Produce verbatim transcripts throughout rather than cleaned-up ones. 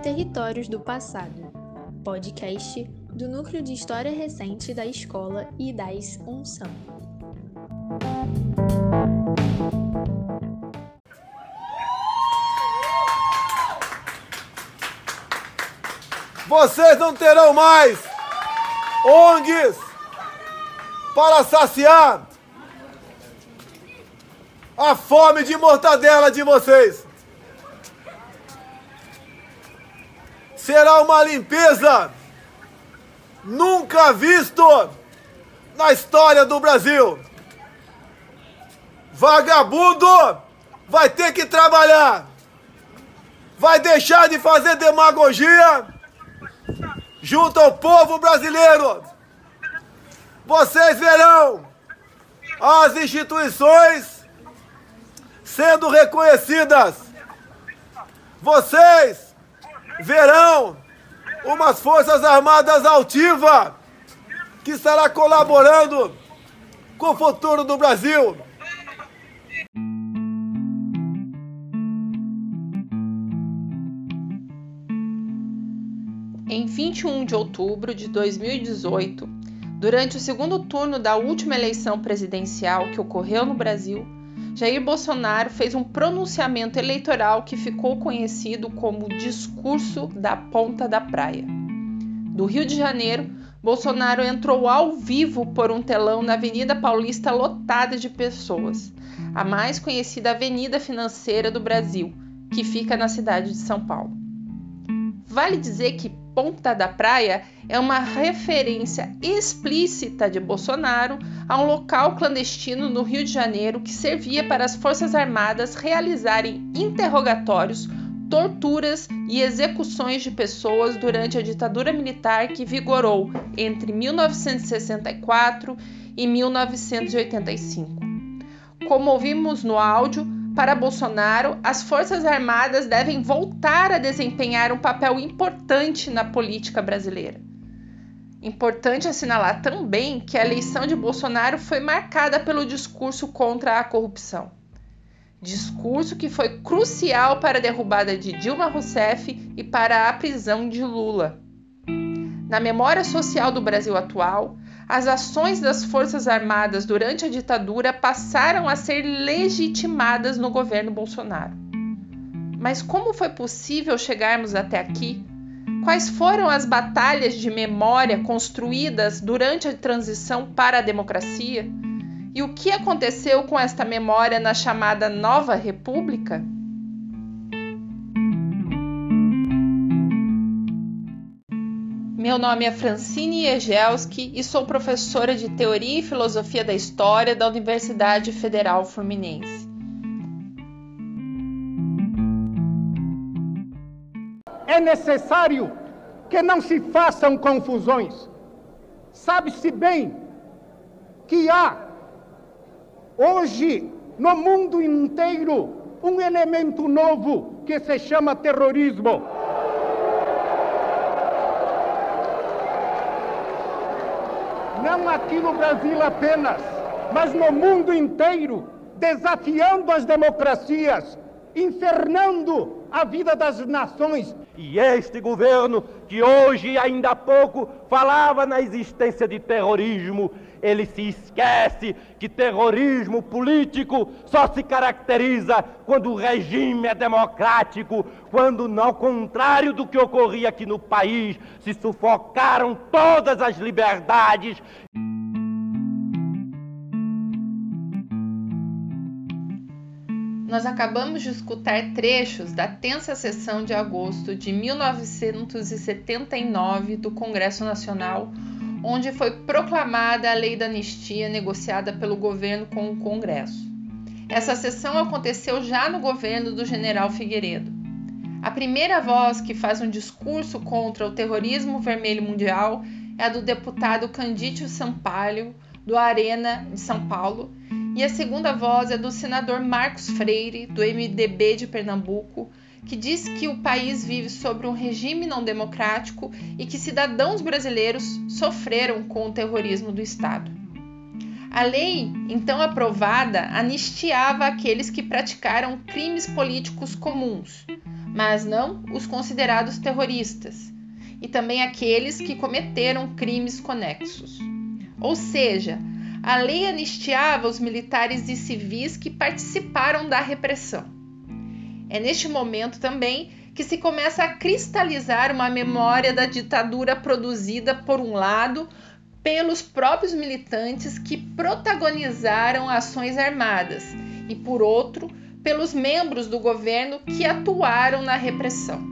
Territórios do Passado, podcast do Núcleo de História Recente da Escola e das Unção. Vocês não terão mais O N Gs para saciar a fome de mortadela de vocês. Será uma limpeza nunca visto na história do Brasil. Vagabundo vai ter que trabalhar, vai deixar de fazer demagogia junto ao povo brasileiro. Vocês verão as instituições sendo reconhecidas. Vocês verão umas Forças Armadas altivas que estará colaborando com o futuro do Brasil. Em vinte e um de outubro de dois mil e dezoito, durante o segundo turno da última eleição presidencial que ocorreu no Brasil, Jair Bolsonaro fez um pronunciamento eleitoral que ficou conhecido como Discurso da Ponta da Praia. Do Rio de Janeiro, Bolsonaro entrou ao vivo por um telão na Avenida Paulista lotada de pessoas, a mais conhecida avenida financeira do Brasil, que fica na cidade de São Paulo. Vale dizer que Ponta da Praia é uma referência explícita de Bolsonaro a um local clandestino no Rio de Janeiro que servia para as Forças Armadas realizarem interrogatórios, torturas e execuções de pessoas durante a ditadura militar que vigorou entre mil novecentos e sessenta e quatro e mil novecentos e oitenta e cinco. Como ouvimos no áudio, para Bolsonaro, as Forças Armadas devem voltar a desempenhar um papel importante na política brasileira. Importante assinalar também que a eleição de Bolsonaro foi marcada pelo discurso contra a corrupção. Discurso que foi crucial para a derrubada de Dilma Rousseff e para a prisão de Lula. Na memória social do Brasil atual, as ações das Forças Armadas durante a ditadura passaram a ser legitimadas no governo Bolsonaro. Mas como foi possível chegarmos até aqui? Quais foram as batalhas de memória construídas durante a transição para a democracia? E o que aconteceu com esta memória na chamada Nova República? Meu nome é Francine Egelski e sou professora de Teoria e Filosofia da História da Universidade Federal Fluminense. É necessário que não se façam confusões. Sabe-se bem que há, hoje, no mundo inteiro, um elemento novo que se chama terrorismo. Não aqui no Brasil apenas, mas no mundo inteiro, desafiando as democracias, infernando a vida das nações. E este governo, que hoje, ainda há pouco, falava na existência de terrorismo, ele se esquece que terrorismo político só se caracteriza quando o regime é democrático, quando, ao contrário do que ocorria aqui no país, se sufocaram todas as liberdades. Nós acabamos de escutar trechos da tensa sessão de agosto de mil novecentos e setenta e nove do Congresso Nacional, onde foi proclamada a Lei da Anistia negociada pelo governo com o Congresso. Essa sessão aconteceu já no governo do general Figueiredo. A primeira voz que faz um discurso contra o terrorismo vermelho mundial é a do deputado Candídio Sampaio, do Arena de São Paulo, e a segunda voz é do senador Marcos Freire, do M D B de Pernambuco, que diz que o país vive sobre um regime não democrático e que cidadãos brasileiros sofreram com o terrorismo do Estado. A lei, então aprovada, anistiava aqueles que praticaram crimes políticos comuns, mas não os considerados terroristas, e também aqueles que cometeram crimes conexos. Ou seja, a lei anistiava os militares e civis que participaram da repressão. É neste momento também que se começa a cristalizar uma memória da ditadura produzida, por um lado, pelos próprios militantes que protagonizaram ações armadas e, por outro, pelos membros do governo que atuaram na repressão.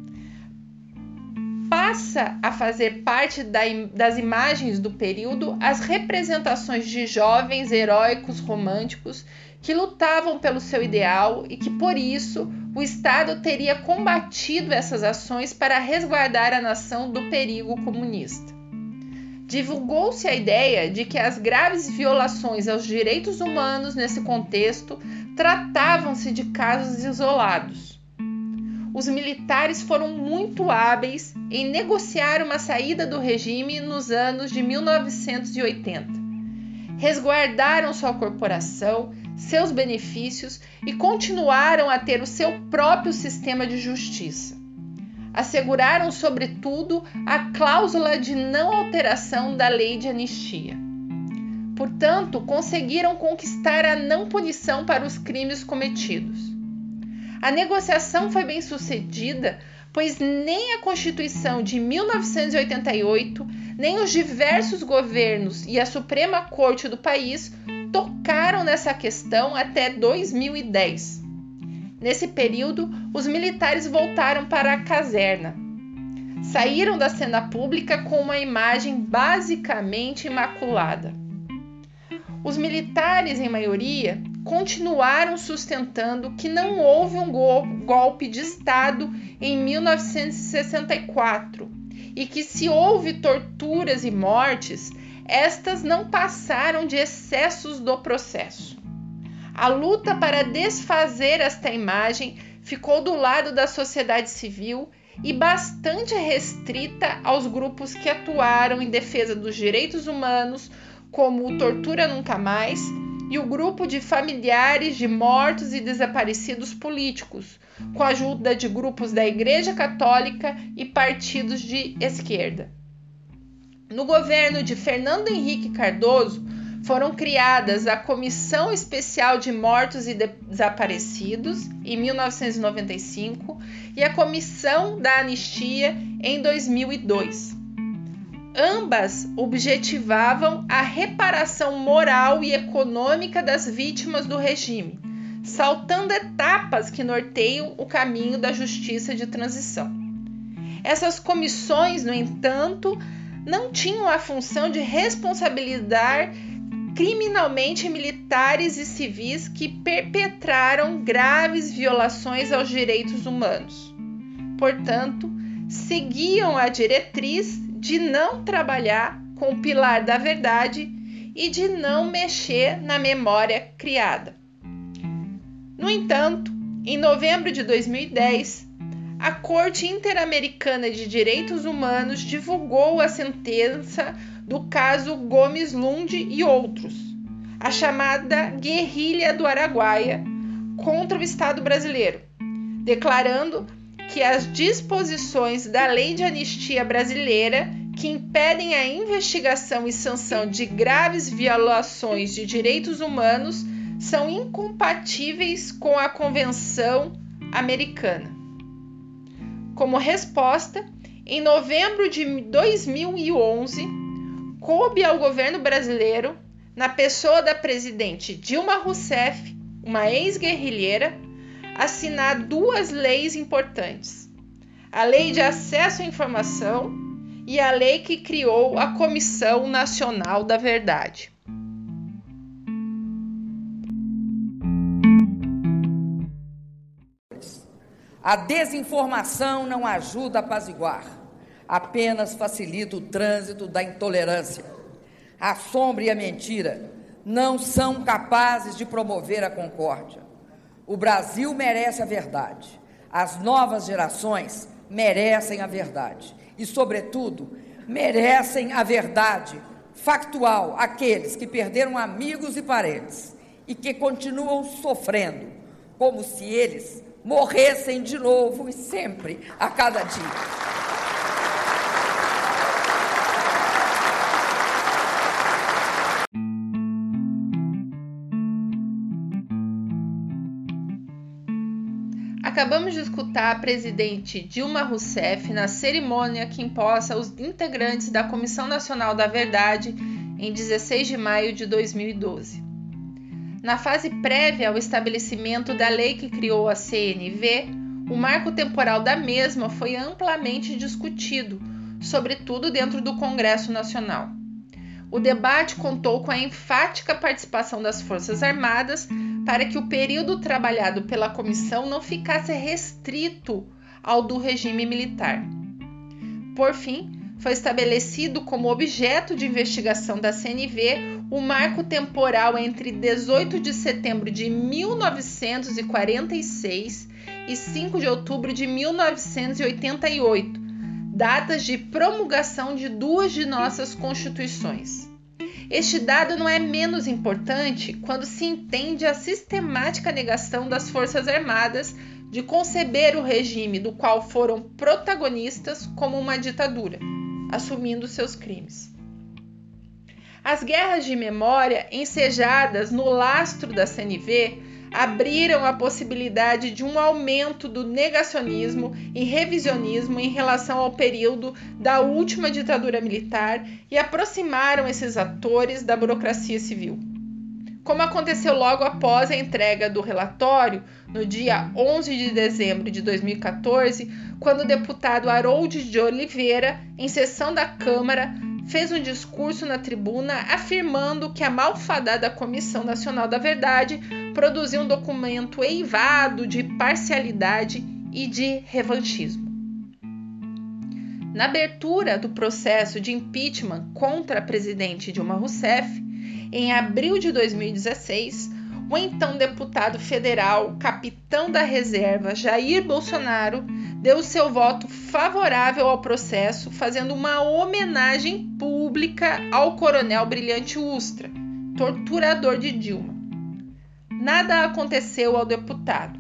Passa a fazer parte da, das imagens do período as representações de jovens heróicos românticos que lutavam pelo seu ideal e que, por isso, o Estado teria combatido essas ações para resguardar a nação do perigo comunista. Divulgou-se a ideia de que as graves violações aos direitos humanos nesse contexto tratavam-se de casos isolados. Os militares foram muito hábeis em negociar uma saída do regime nos anos de mil novecentos e oitenta. Resguardaram sua corporação, seus benefícios e continuaram a ter o seu próprio sistema de justiça. Asseguraram, sobretudo, a cláusula de não alteração da lei de anistia. Portanto, conseguiram conquistar a não punição para os crimes cometidos. A negociação foi bem sucedida, pois nem a Constituição de mil novecentos e oitenta e oito, nem os diversos governos e a Suprema Corte do país tocaram nessa questão até dois mil e dez. Nesse período, os militares voltaram para a caserna. Saíram da cena pública com uma imagem basicamente imaculada. Os militares, em maioria, continuaram sustentando que não houve um golpe de Estado em mil novecentos e sessenta e quatro e que, se houve torturas e mortes, estas não passaram de excessos do processo. A luta para desfazer esta imagem ficou do lado da sociedade civil e bastante restrita aos grupos que atuaram em defesa dos direitos humanos, como o Tortura Nunca Mais e o grupo de familiares de mortos e desaparecidos políticos, com a ajuda de grupos da Igreja Católica e partidos de esquerda. No governo de Fernando Henrique Cardoso, foram criadas a Comissão Especial de Mortos e Desaparecidos, em mil novecentos e noventa e cinco, e a Comissão da Anistia, em dois mil e dois. Ambas objetivavam a reparação moral e econômica das vítimas do regime, saltando etapas que norteiam o caminho da justiça de transição. Essas comissões, no entanto, não tinham a função de responsabilizar criminalmente militares e civis que perpetraram graves violações aos direitos humanos. Portanto, seguiam a diretriz de não trabalhar com o pilar da verdade e de não mexer na memória criada. No entanto, em novembro de dois mil e dez, a Corte Interamericana de Direitos Humanos divulgou a sentença do caso Gomes Lund e outros, a chamada Guerrilha do Araguaia, contra o Estado brasileiro, declarando que as disposições da Lei de Anistia Brasileira, que impedem a investigação e sanção de graves violações de direitos humanos, são incompatíveis com a Convenção Americana. Como resposta, em novembro de dois mil e onze, coube ao governo brasileiro, na pessoa da presidente Dilma Rousseff, uma ex-guerrilheira, assinar duas leis importantes: a Lei de Acesso à Informação e a lei que criou a Comissão Nacional da Verdade. A desinformação não ajuda a apaziguar, apenas facilita o trânsito da intolerância. A sombra e a mentira não são capazes de promover a concórdia. O Brasil merece a verdade. As novas gerações merecem a verdade. E, sobretudo, merecem a verdade factual aqueles que perderam amigos e parentes e que continuam sofrendo, como se eles morressem de novo e sempre, a cada dia. Acabamos de escutar a presidente Dilma Rousseff na cerimônia que imposta os integrantes da Comissão Nacional da Verdade em dezesseis de maio de dois mil e doze. Na fase prévia ao estabelecimento da lei que criou a C N V, o marco temporal da mesma foi amplamente discutido, sobretudo dentro do Congresso Nacional. O debate contou com a enfática participação das Forças Armadas para que o período trabalhado pela comissão não ficasse restrito ao do regime militar. Por fim, foi estabelecido como objeto de investigação da C N V o marco temporal entre dezoito de setembro de mil novecentos e quarenta e seis e cinco de outubro de mil novecentos e oitenta e oito, datas de promulgação de duas de nossas constituições. Este dado não é menos importante quando se entende a sistemática negação das Forças Armadas de conceber o regime do qual foram protagonistas como uma ditadura, assumindo seus crimes. As guerras de memória ensejadas no lastro da C N V abriram a possibilidade de um aumento do negacionismo e revisionismo em relação ao período da última ditadura militar e aproximaram esses atores da burocracia civil. Como aconteceu logo após a entrega do relatório, no dia onze de dezembro de dois mil e quatorze, quando o deputado Harold de Oliveira, em sessão da Câmara, fez um discurso na tribuna afirmando que a malfadada Comissão Nacional da Verdade produziu um documento eivado de parcialidade e de revanchismo. Na abertura do processo de impeachment contra a presidente Dilma Rousseff, em abril de dois mil e dezesseis, o então deputado federal, capitão da reserva Jair Bolsonaro, deu seu voto favorável ao processo, fazendo uma homenagem pública ao coronel Brilhante Ustra, torturador de Dilma. Nada aconteceu ao deputado.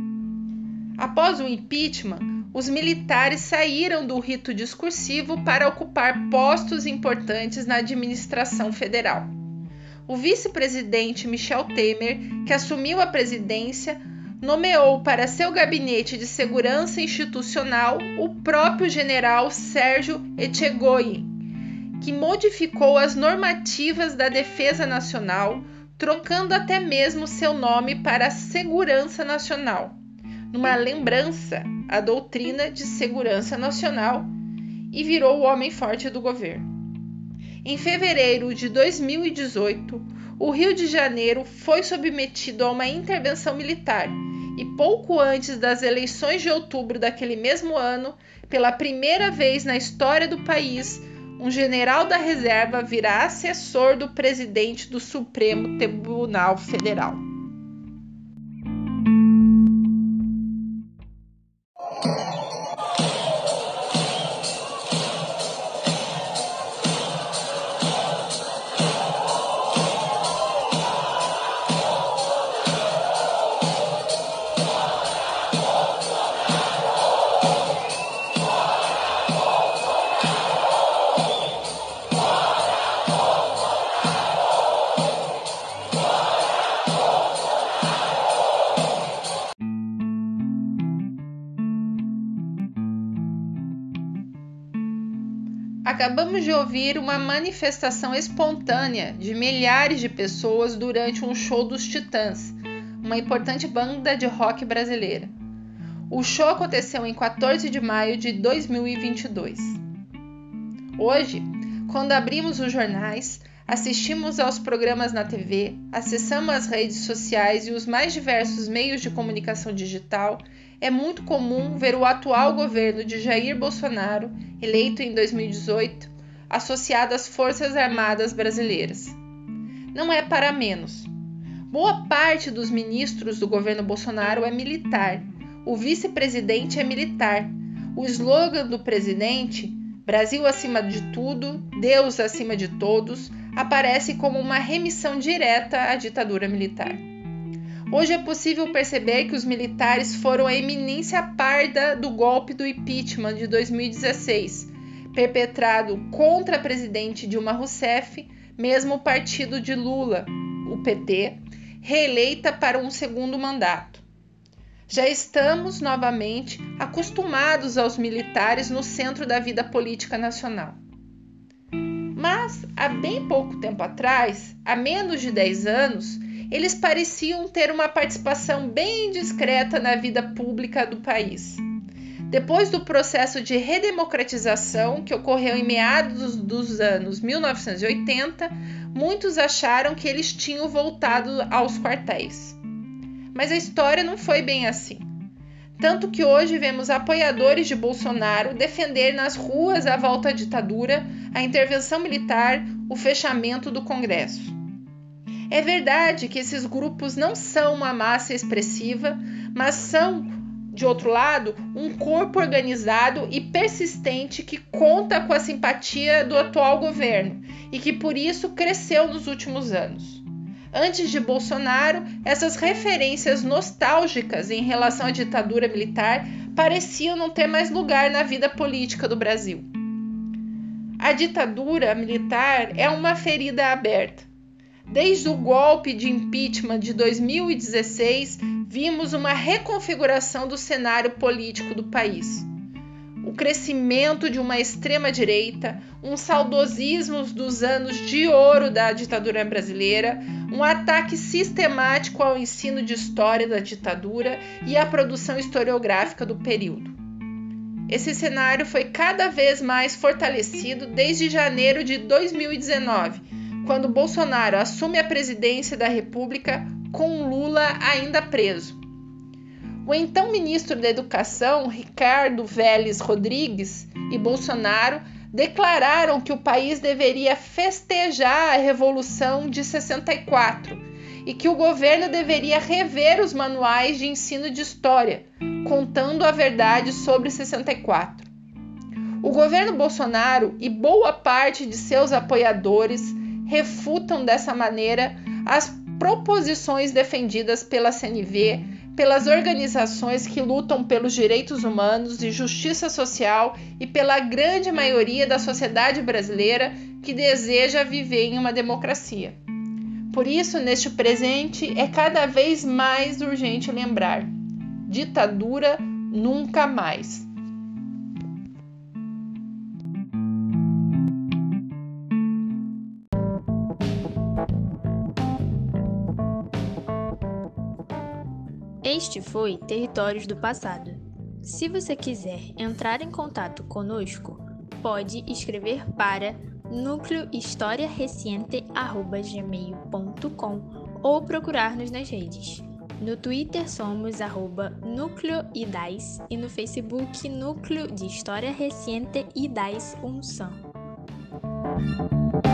Após o impeachment, os militares saíram do rito discursivo para ocupar postos importantes na administração federal. O vice-presidente Michel Temer, que assumiu a presidência, nomeou para seu gabinete de segurança institucional o próprio general Sérgio Etchegoyen, que modificou as normativas da Defesa Nacional, trocando até mesmo seu nome para Segurança Nacional, numa lembrança à doutrina de segurança nacional, e virou o homem forte do governo. Em fevereiro de dois mil e dezoito, o Rio de Janeiro foi submetido a uma intervenção militar e pouco antes das eleições de outubro daquele mesmo ano, pela primeira vez na história do país, um general da reserva virá assessor do presidente do Supremo Tribunal Federal. Acabamos de ouvir uma manifestação espontânea de milhares de pessoas durante um show dos Titãs, uma importante banda de rock brasileira. O show aconteceu em quatorze de maio de dois mil e vinte e dois. Hoje, quando abrimos os jornais, assistimos aos programas na T V, acessamos as redes sociais e os mais diversos meios de comunicação digital, é muito comum ver o atual governo de Jair Bolsonaro, eleito em dois mil e dezoito, associado às Forças Armadas Brasileiras. Não é para menos. Boa parte dos ministros do governo Bolsonaro é militar. O vice-presidente é militar. O slogan do presidente, Brasil acima de tudo, Deus acima de todos, aparece como uma remissão direta à ditadura militar. Hoje é possível perceber que os militares foram a eminência parda do golpe do impeachment de dois mil e dezesseis, perpetrado contra a presidente Dilma Rousseff, mesmo o partido de Lula, o P T, reeleita para um segundo mandato. Já estamos novamente acostumados aos militares no centro da vida política nacional. Mas, há bem pouco tempo atrás, há menos de dez anos, eles pareciam ter uma participação bem discreta na vida pública do país. Depois do processo de redemocratização que ocorreu em meados dos anos mil novecentos e oitenta, muitos acharam que eles tinham voltado aos quartéis. Mas a história não foi bem assim. Tanto que hoje vemos apoiadores de Bolsonaro defender nas ruas a volta à ditadura, a intervenção militar, o fechamento do Congresso. É verdade que esses grupos não são uma massa expressiva, mas são, de outro lado, um corpo organizado e persistente que conta com a simpatia do atual governo e que por isso cresceu nos últimos anos. Antes de Bolsonaro, essas referências nostálgicas em relação à ditadura militar pareciam não ter mais lugar na vida política do Brasil. A ditadura militar é uma ferida aberta. Desde o golpe de impeachment de dois mil e dezesseis, vimos uma reconfiguração do cenário político do país. O crescimento de uma extrema-direita, um saudosismo dos anos de ouro da ditadura brasileira, um ataque sistemático ao ensino de história da ditadura e à produção historiográfica do período. Esse cenário foi cada vez mais fortalecido desde janeiro de dois mil e dezenove, quando Bolsonaro assume a presidência da República com Lula ainda preso. O então ministro da Educação, Ricardo Vélez Rodrigues, e Bolsonaro declararam que o país deveria festejar a Revolução de sessenta e quatro e que o governo deveria rever os manuais de ensino de história, contando a verdade sobre sessenta e quatro. O governo Bolsonaro e boa parte de seus apoiadores refutam dessa maneira as proposições defendidas pela C N V, pelas organizações que lutam pelos direitos humanos e justiça social e pela grande maioria da sociedade brasileira que deseja viver em uma democracia. Por isso, neste presente, é cada vez mais urgente lembrar: ditadura nunca mais. Este foi Territórios do Passado. Se você quiser entrar em contato conosco, pode escrever para núcleo história reciente arroba gmail ponto com ou procurar-nos nas redes. No Twitter somos arroba núcleo idais e no Facebook Núcleo de História Reciente Idais Unção.